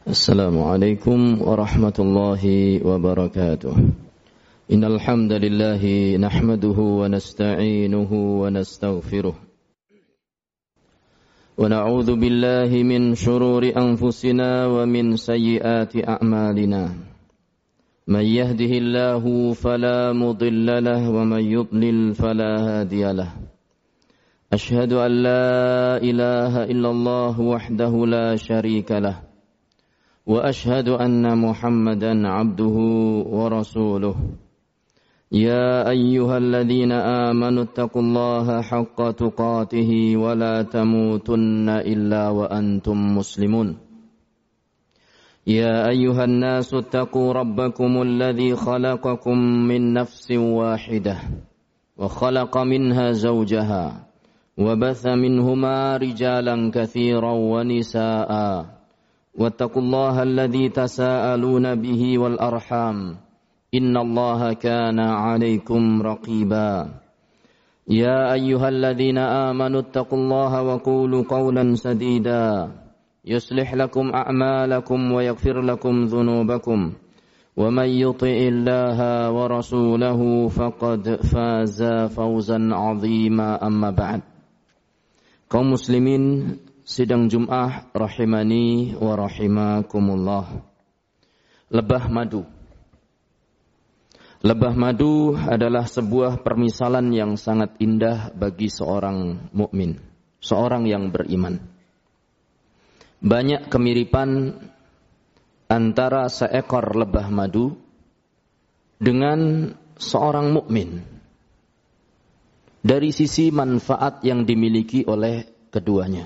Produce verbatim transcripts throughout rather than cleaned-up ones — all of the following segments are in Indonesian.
Assalamualaikum warahmatullahi wabarakatuh. Innal hamdalillah nahmaduhu wa nasta'inuhu wa nastaghfiruh. Wa na'udzu billahi min shururi anfusina wa min sayyiati a'malina. Man yahdihillahu fala mudilla lahu wa man yudlil fala hadiya lahu. Ashhadu an la ilaha illallah wahdahu la syarika lahu. وأشهد أن محمدا عبده ورسوله يا أيها الذين آمنوا اتقوا الله حق تقاته ولا تموتن إلا وأنتم مسلمون يا أيها الناس اتقوا ربكم الذي خلقكم من نفس واحدة وخلق منها زوجها وبث منهما رجالا كثيرا ونساء واتقوا الله الذي تساءلون به والأرحام إن الله كان عليكم رقيبا يا أيها الذين آمنوا اتقوا الله وقولوا قولا سديدا يصلح لكم أعمالكم ويغفر لكم ذنوبكم ومن يطع الله ورسوله فقد فاز فوزا عظيما أما بعد. Kaum muslimin sidang Jum'ah rahimani wa rahimakumullah. Lebah madu. Lebah madu adalah sebuah permisalan yang sangat indah bagi seorang mukmin, seorang yang beriman. Banyak kemiripan antara seekor lebah madu dengan seorang mukmin dari sisi manfaat yang dimiliki oleh keduanya.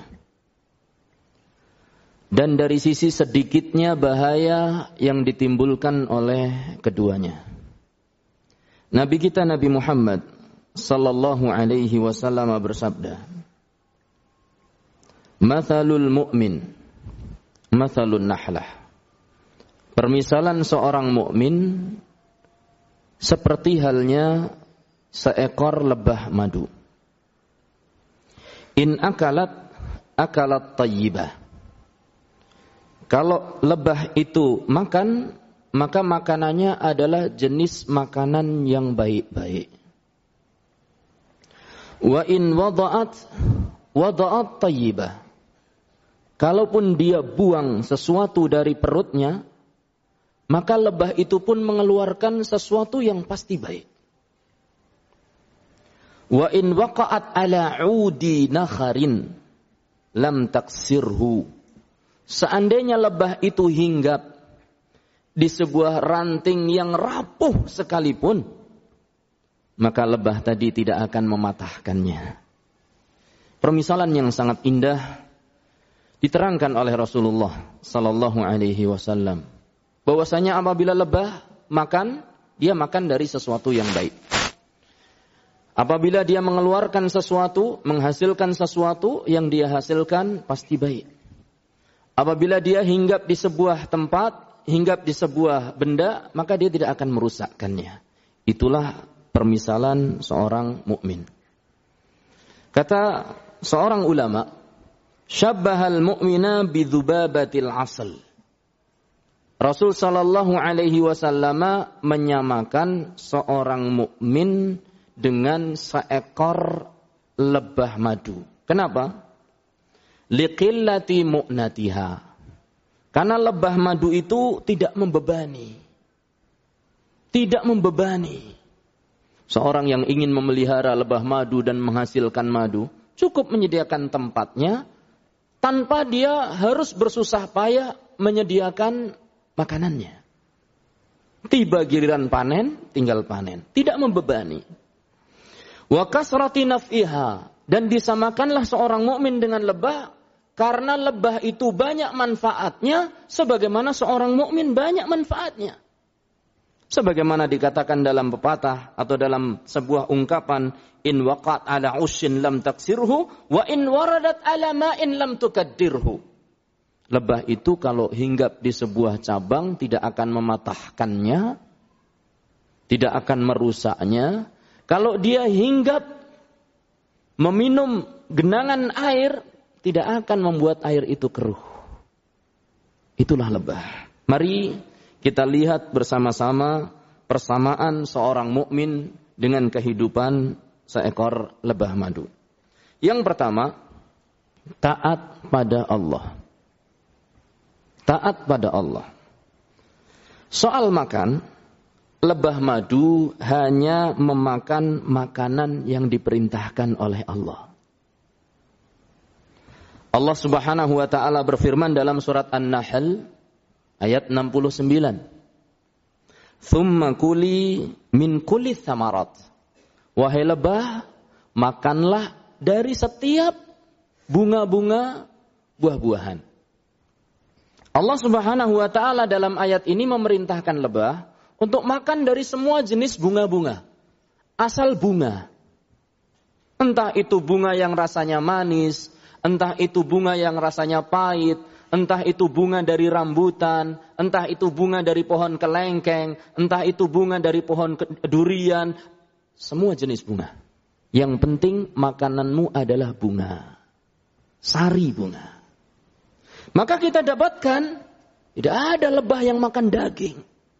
Dan dari sisi sedikitnya bahaya yang ditimbulkan oleh keduanya. Nabi kita Nabi Muhammad sallallahu alaihi wasallam bersabda, "Mathalul mu'min, mathalun nahlah." Permisalan seorang mukmin seperti halnya seekor lebah madu. In akalat akalat tayyibah. Kalau lebah itu makan, maka makanannya adalah jenis makanan yang baik-baik. Wa in wada'at wada'at tayyibah. Kalaupun dia buang sesuatu dari perutnya, maka lebah itu pun mengeluarkan sesuatu yang pasti baik. Wa in waqa'at ala 'udi nakharin lam taksirhu. Seandainya lebah itu hinggap di sebuah ranting yang rapuh sekalipun, maka lebah tadi tidak akan mematahkannya. Permisalan yang sangat indah diterangkan oleh Rasulullah sallallahu alaihi wasallam, bahwasanya apabila lebah makan, dia makan dari sesuatu yang baik. Apabila dia mengeluarkan sesuatu, menghasilkan sesuatu, yang dia hasilkan pasti baik. Apabila dia hinggap di sebuah tempat, hinggap di sebuah benda, maka dia tidak akan merusakkannya. Itulah permisalan seorang mukmin. Kata seorang ulama, syabbahal mu'mina bidzubabatil asal. Rasul sallallahu alaihi wasallam menyamakan seorang mukmin dengan seekor lebah madu. Kenapa? Liqillati mu'natiha. Karena lebah madu itu tidak membebani. Tidak membebani. Seorang yang ingin memelihara lebah madu dan menghasilkan madu, cukup menyediakan tempatnya, tanpa dia harus bersusah payah menyediakan makanannya. Tiba giliran panen, tinggal panen. Tidak membebani. Wa kasrati naf'iha. Dan disamakanlah seorang mukmin dengan lebah, karena lebah itu banyak manfaatnya, sebagaimana seorang mukmin banyak manfaatnya. Sebagaimana dikatakan dalam pepatah atau dalam sebuah ungkapan, in waqat ala ushin lam taksirhu, wa in waradat ala ma'in lam tukaddirhu. Lebah itu kalau hinggap di sebuah cabang tidak akan mematahkannya, tidak akan merusaknya. Kalau dia hinggap meminum genangan air, tidak akan membuat air itu keruh. Itulah lebah. Mari kita lihat bersama-sama persamaan seorang mukmin dengan kehidupan seekor lebah madu. Yang pertama, taat pada Allah. Taat pada Allah. Soal makan, lebah madu hanya memakan makanan yang diperintahkan oleh Allah. Allah Subhanahu wa taala berfirman dalam surat An-Nahl ayat enam puluh sembilan. "Tsumma kuli min kulli tsamarat." Wahai lebah, makanlah dari setiap bunga-bunga buah-buahan. Allah Subhanahu wa taala dalam ayat ini memerintahkan lebah untuk makan dari semua jenis bunga-bunga. Asal bunga. Entah itu bunga yang rasanya manis, entah itu bunga yang rasanya pahit, entah itu bunga dari rambutan, entah itu bunga dari pohon kelengkeng, entah itu bunga dari pohon durian, semua jenis bunga. Yang penting makananmu adalah bunga. Sari bunga. Maka kita dapatkan, tidak ada lebah yang makan daging.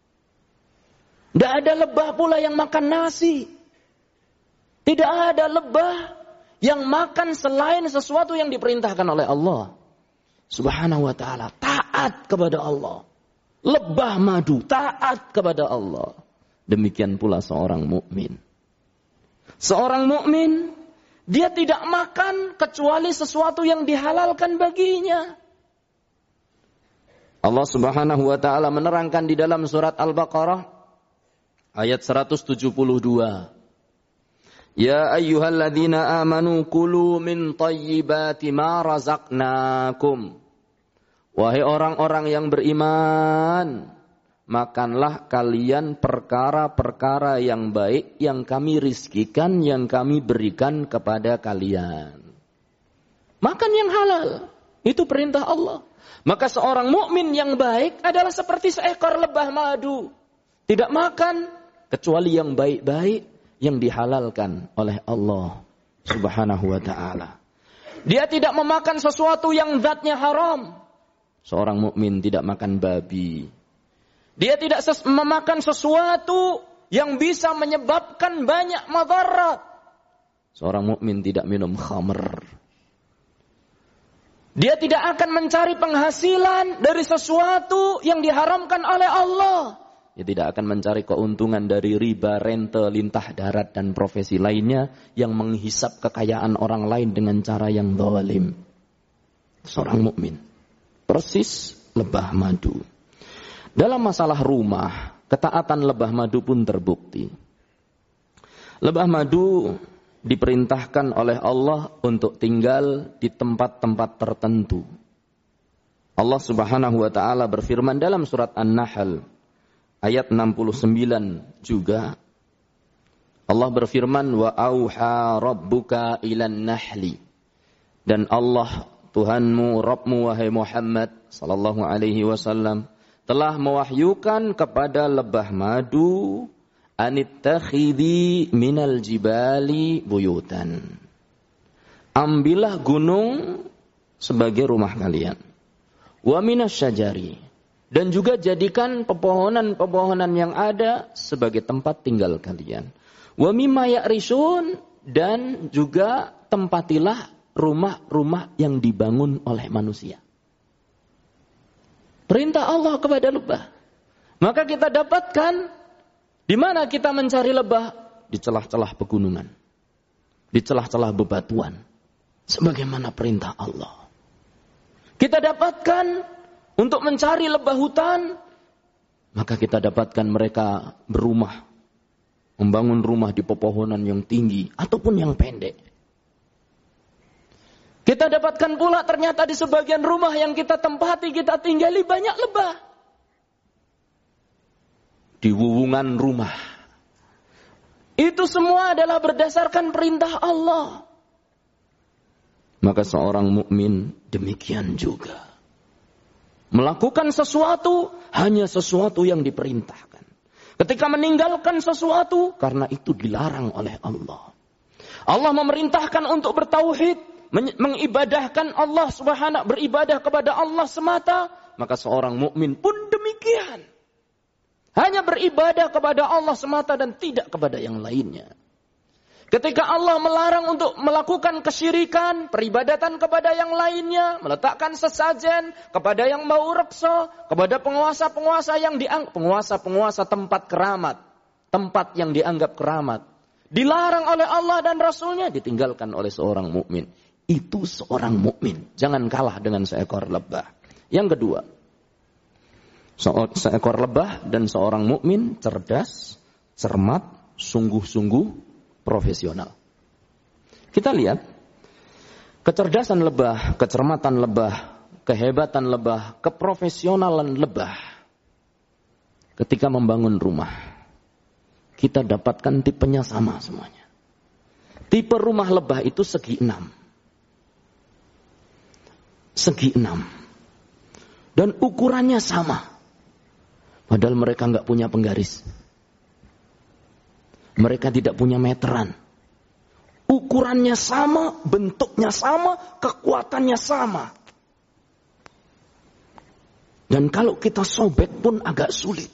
Tidak ada lebah pula yang makan nasi. Tidak ada lebah yang makan selain sesuatu yang diperintahkan oleh Allah Subhanahu wa ta'ala. Taat kepada Allah. Lebah madu, taat kepada Allah. Demikian pula seorang mukmin. Seorang mukmin, dia tidak makan kecuali sesuatu yang dihalalkan baginya. Allah Subhanahu wa taala menerangkan di dalam surat Al-Baqarah ayat seratus tujuh puluh dua. Ya ayyuhalladzina amanu kulu min thayyibati ma razaqnakum. Wahai orang-orang yang beriman, makanlah kalian perkara-perkara yang baik yang kami rizkikan, yang kami berikan kepada kalian. Makan yang halal, itu perintah Allah. Maka seorang mukmin yang baik adalah seperti seekor lebah madu. Tidak makan kecuali yang baik-baik yang dihalalkan oleh Allah Subhanahu wa ta'ala. Dia tidak memakan sesuatu yang zatnya haram. Seorang mukmin tidak makan babi. Dia tidak ses- memakan sesuatu yang bisa menyebabkan banyak madarat. Seorang mukmin tidak minum khamr. Dia tidak akan mencari penghasilan dari sesuatu yang diharamkan oleh Allah. Dia tidak akan mencari keuntungan dari riba, rente, lintah darat, dan profesi lainnya yang menghisap kekayaan orang lain dengan cara yang zalim. Seorang mukmin persis lebah madu. Dalam masalah rumah, ketaatan lebah madu pun terbukti. Lebah madu diperintahkan oleh Allah untuk tinggal di tempat-tempat tertentu. Allah Subhanahu wa taala berfirman dalam surat An-Nahl ayat enam puluh sembilan juga. Allah berfirman, wa auha rabbuka ilan nahli. Dan Allah Tuhanmu, Rabbmu wahai Muhammad sallallahu alaihi wasallam telah mewahyukan kepada lebah madu anittakhidhi minal jibali buyutan. Ambillah gunung sebagai rumah kalian. Wa minasyajari. Dan juga jadikan pepohonan-pepohonan yang ada sebagai tempat tinggal kalian. Wa mimma ya'rishun. Dan juga tempatilah rumah-rumah yang dibangun oleh manusia. Perintah Allah kepada lebah. Maka kita dapatkan di mana kita mencari lebah? Di celah-celah pegunungan. Di celah-celah bebatuan. Sebagaimana perintah Allah. Kita dapatkan untuk mencari lebah hutan. Maka kita dapatkan mereka berumah. Membangun rumah di pepohonan yang tinggi. Ataupun yang pendek. Kita dapatkan pula ternyata di sebagian rumah yang kita tempati, kita tinggali banyak lebah. Di wuwungan rumah. Itu semua adalah berdasarkan perintah Allah. Maka seorang mukmin demikian juga. Melakukan sesuatu hanya sesuatu yang diperintahkan. Ketika meninggalkan sesuatu karena itu dilarang oleh Allah. Allah memerintahkan untuk bertauhid, mengibadahkan Allah Subhanahu, beribadah kepada Allah semata, maka seorang mukmin pun demikian. Hanya beribadah kepada Allah semata dan tidak kepada yang lainnya. Ketika Allah melarang untuk melakukan kesyirikan, peribadatan kepada yang lainnya, meletakkan sesajen kepada yang mau reksa, kepada penguasa-penguasa yang dianggap penguasa-penguasa tempat keramat, tempat yang dianggap keramat, dilarang oleh Allah dan Rasulnya, ditinggalkan oleh seorang mukmin. Itu seorang mukmin. Jangan kalah dengan seekor lebah. Yang kedua, seekor lebah dan seorang mukmin cerdas, cermat, sungguh-sungguh profesional. Kita lihat kecerdasan lebah, kecermatan lebah, kehebatan lebah, keprofesionalan lebah. Ketika membangun rumah, kita dapatkan tipenya sama semuanya. Tipe rumah lebah itu segi enam. Segi enam. Dan ukurannya sama. Padahal mereka nggak punya penggaris. Mereka tidak punya meteran. Ukurannya sama, bentuknya sama, kekuatannya sama. Dan kalau kita sobek pun agak sulit.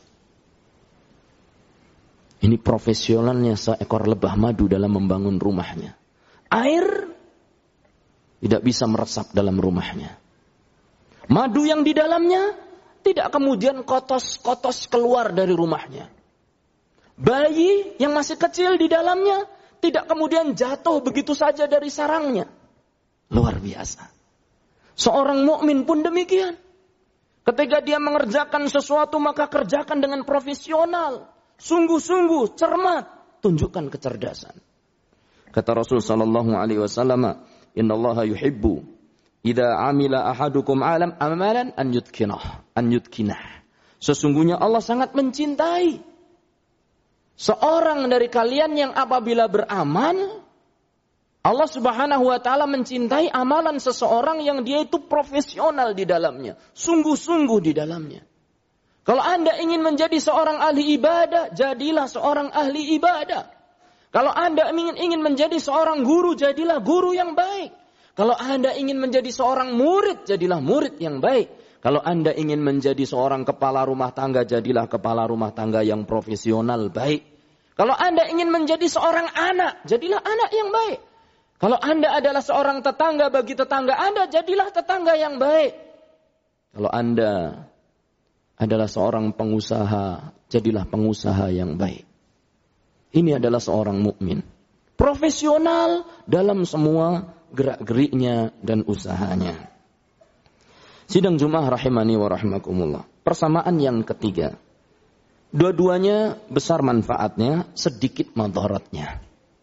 Ini profesionalnya seekor lebah madu dalam membangun rumahnya. Air tidak bisa meresap dalam rumahnya. Madu yang di dalamnya tidak kemudian kotos-kotos keluar dari rumahnya. Bayi yang masih kecil di dalamnya tidak kemudian jatuh begitu saja dari sarangnya. Luar biasa. Seorang mukmin pun demikian. Ketika dia mengerjakan sesuatu maka kerjakan dengan profesional, sungguh-sungguh, cermat, tunjukkan kecerdasan. Kata Rasul sallallahu alaihi wasallam, "Innallaha yuhibbu idza amila ahadukum alam amalan an yutkinah, an yutkinah." Sesungguhnya Allah sangat mencintai seorang dari kalian yang apabila beramal, Allah subhanahu wa ta'ala mencintai amalan seseorang yang dia itu profesional di dalamnya. Sungguh-sungguh di dalamnya. Kalau Anda ingin menjadi seorang ahli ibadah, jadilah seorang ahli ibadah. Kalau Anda ingin, ingin menjadi seorang guru, jadilah guru yang baik. Kalau Anda ingin menjadi seorang murid, jadilah murid yang baik. Kalau Anda ingin menjadi seorang kepala rumah tangga, jadilah kepala rumah tangga yang profesional baik. Kalau Anda ingin menjadi seorang anak, jadilah anak yang baik. Kalau Anda adalah seorang tetangga bagi tetangga Anda, jadilah tetangga yang baik. Kalau Anda adalah seorang pengusaha, jadilah pengusaha yang baik. Ini adalah seorang mukmin, profesional dalam semua gerak-geriknya dan usahanya. Sidang Jumat rahimani wa rahimakumullah. Persamaan yang ketiga. Dua-duanya besar manfaatnya, sedikit madaratnya.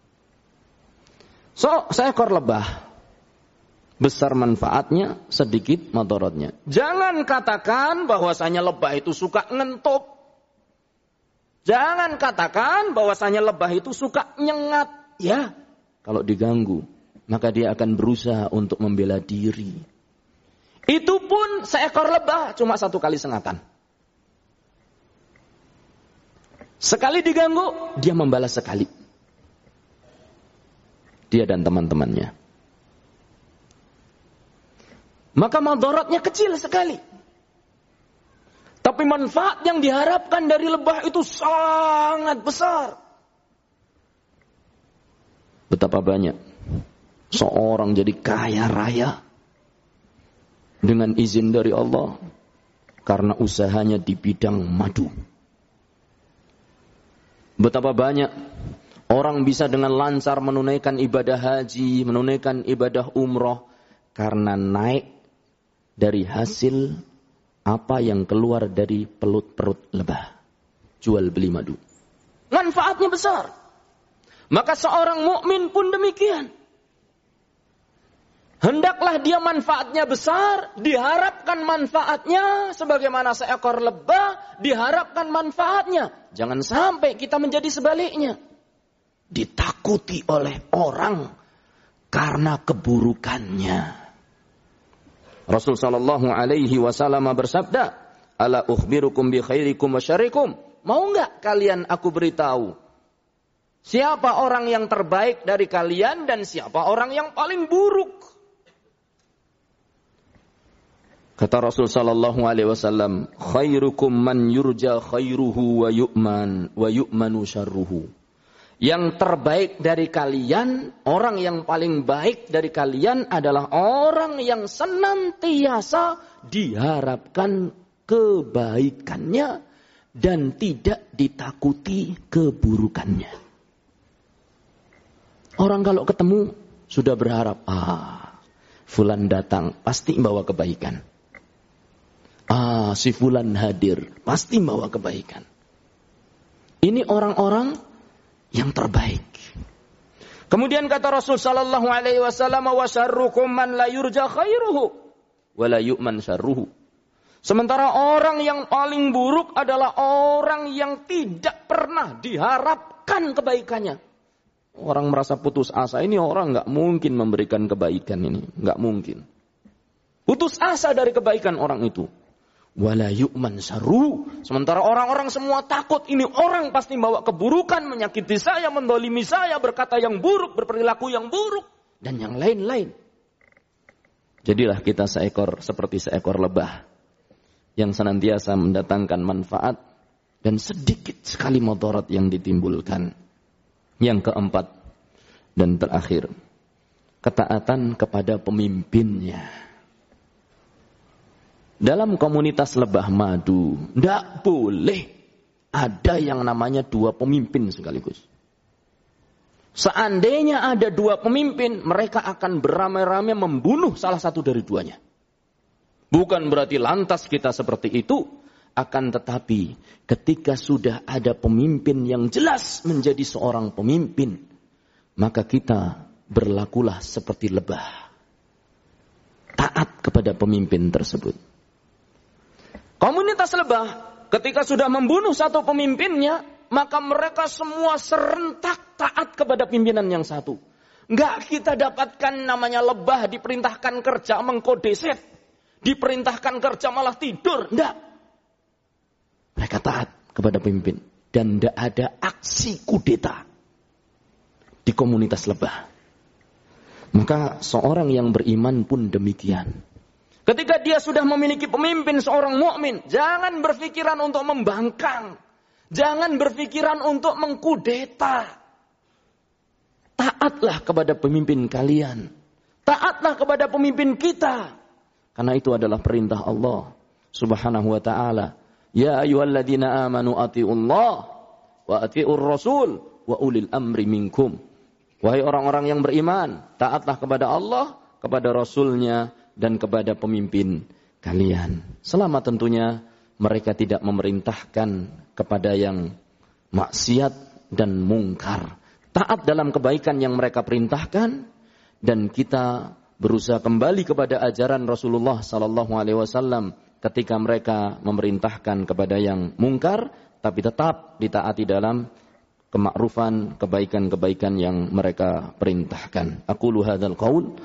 So, seekor lebah. Besar manfaatnya, sedikit madaratnya. Jangan katakan bahwasanya lebah itu suka ngentup. Jangan katakan bahwasanya lebah itu suka nyengat. Ya, kalau diganggu, maka dia akan berusaha untuk membela diri. Itu pun seekor lebah cuma satu kali sengatan. Sekali diganggu, dia membalas sekali. Dia dan teman-temannya. Maka madaratnya kecil sekali. Tapi manfaat yang diharapkan dari lebah itu sangat besar. Betapa banyak seorang jadi kaya raya dengan izin dari Allah karena usahanya di bidang madu. Betapa banyak orang bisa dengan lancar menunaikan ibadah haji, menunaikan ibadah umroh karena naik dari hasil apa yang keluar dari perut-perut lebah. Jual beli madu. Manfaatnya besar. Maka seorang mukmin pun demikian. Hendaklah dia manfaatnya besar, diharapkan manfaatnya sebagaimana seekor lebah diharapkan manfaatnya. Jangan sampai kita menjadi sebaliknya. Ditakuti oleh orang karena keburukannya. Rasul sallallahu alaihi wasallam bersabda, "Ala ukhbirukum bi khairikum wa syarrikum?" Mau enggak kalian aku beritahu siapa orang yang terbaik dari kalian dan siapa orang yang paling buruk? Kata Rasul sallallahu alaihi wasallam, khairukum man yurja khairuhu wa yu'man wa yu'manu syarruhu. Yang terbaik dari kalian, orang yang paling baik dari kalian adalah orang yang senantiasa diharapkan kebaikannya dan tidak ditakuti keburukannya. Orang kalau ketemu sudah berharap, ah, fulan datang pasti membawa kebaikan. Ah, si fulan hadir, pasti bawa kebaikan. Ini orang-orang yang terbaik. Kemudian kata Rasul sallallahu alaihi wasallam, wa syarrukum man la yurja khairuhu wa la yu'man syarruhu. Sementara orang yang paling buruk adalah orang yang tidak pernah diharapkan kebaikannya. Orang merasa putus asa, ini orang enggak mungkin memberikan kebaikan ini, enggak mungkin. Putus asa dari kebaikan orang itu. Wala yu'man syarruhu. Sementara orang-orang semua takut, ini orang pasti bawa keburukan, menyakiti saya, mendolimi saya, berkata yang buruk, berperilaku yang buruk, dan yang lain-lain. Jadilah kita seekor seperti seekor lebah yang senantiasa mendatangkan manfaat dan sedikit sekali mudarat yang ditimbulkan. Yang keempat dan terakhir, ketaatan kepada pemimpinnya. Dalam komunitas lebah madu, tidak boleh ada yang namanya dua pemimpin sekaligus. Seandainya ada dua pemimpin, mereka akan beramai-ramai membunuh salah satu dari duanya. Bukan berarti lantas kita seperti itu, akan tetapi ketika sudah ada pemimpin yang jelas menjadi seorang pemimpin, maka kita berlakulah seperti lebah. Taat kepada pemimpin tersebut. Komunitas lebah ketika sudah membunuh satu pemimpinnya, maka mereka semua serentak taat kepada pimpinan yang satu. Enggak kita dapatkan namanya lebah diperintahkan kerja mengkodeset, diperintahkan kerja malah tidur. Enggak. Mereka taat kepada pemimpin dan enggak ada aksi kudeta di komunitas lebah. Maka seorang yang beriman pun demikian. Ketika dia sudah memiliki pemimpin seorang mukmin, jangan berpikiran untuk membangkang. Jangan berpikiran untuk mengkudeta. Taatlah kepada pemimpin kalian. Taatlah kepada pemimpin kita. Karena itu adalah perintah Allah Subhanahu wa ta'ala. Ya ayyuhalladzina amanu ati'ullah wa ati'ur rasul wa ulil amri minkum. Wahai orang-orang yang beriman, taatlah kepada Allah, kepada Rasulnya, dan kepada pemimpin kalian. Selama tentunya mereka tidak memerintahkan kepada yang maksiat dan mungkar. Taat dalam kebaikan yang mereka perintahkan, dan kita berusaha kembali kepada ajaran Rasulullah sallallahu alaihi wasallam ketika mereka memerintahkan kepada yang mungkar, tapi tetap ditaati dalam kemakrufan, kebaikan-kebaikan yang mereka perintahkan. Aqulu hadzal qaul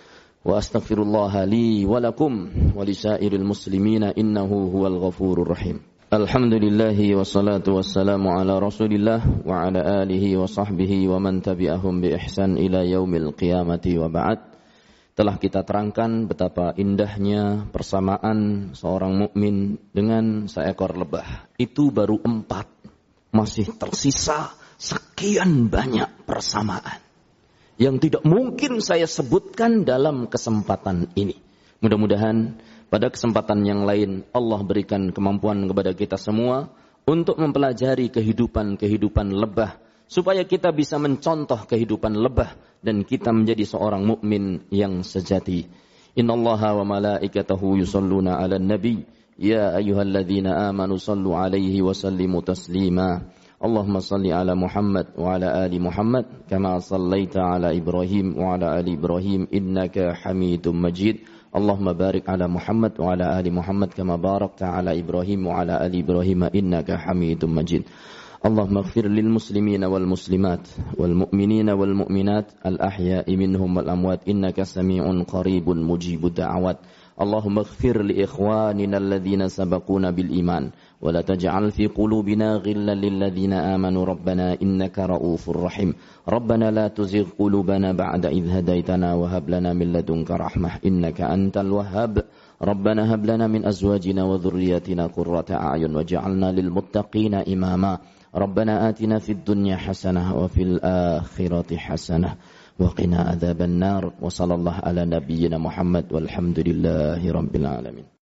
wa astaghfirullah li wa lakum wa lisairil muslimina innahu huwal ghafurur rahim. Alhamdulillahi wassalatu wassalamu ala Rasulillah wa ala alihi wa sahbihi wa man tabi'ahum bi ihsan ila yaumil qiyamati wa ba'd. Telah kita terangkan betapa indahnya persamaan seorang mukmin dengan seekor lebah. Itu baru empat. Masih tersisa sekian banyak persamaan yang tidak mungkin saya sebutkan dalam kesempatan ini. Mudah-mudahan pada kesempatan yang lain Allah berikan kemampuan kepada kita semua untuk mempelajari kehidupan-kehidupan lebah, supaya kita bisa mencontoh kehidupan lebah dan kita menjadi seorang mukmin yang sejati. Innallaha wa malaikatahu yusholluna 'alan nabi ya ayyuhalladzina amanu shallu 'alaihi wa sallimu taslima. Allahumma salli ala Muhammad wa ala ali Muhammad kama sallaita ala Ibrahim wa ala ali Ibrahim innaka Hamidum Majid. Allahumma barik ala Muhammad wa ala ali Muhammad kama barakta ala Ibrahim wa ala ali Ibrahim innaka Hamidum Majid. Allahumma ighfir lil muslimina wal muslimat wal mu'minina wal mu'minat al ahya'i minhum wal amwat innaka sami'un qaribun mujibud da'awat. Allahumma ighfir li ikhwanina alladhina sabaquna bil iman wa la taj'al fi qulubina ghillan lil ladzina amanu rabbana innaka ra'ufur rahim. Rabbana la tuzigh qulubana ba'da idh hadaitana wa hab lana min ladunka rahmah innaka antal wahhab. Rabbana hab lana min azwajina wa dhurriyyatina qurrata a'yun waj'alna lil muttaqina imama. Rabbana atina fid dunya hasanah wa fil akhirati hasanah wa qina adzaban nar. Wa sallallahu ala nabiyyina Muhammad walhamdulillahi rabbil alamin.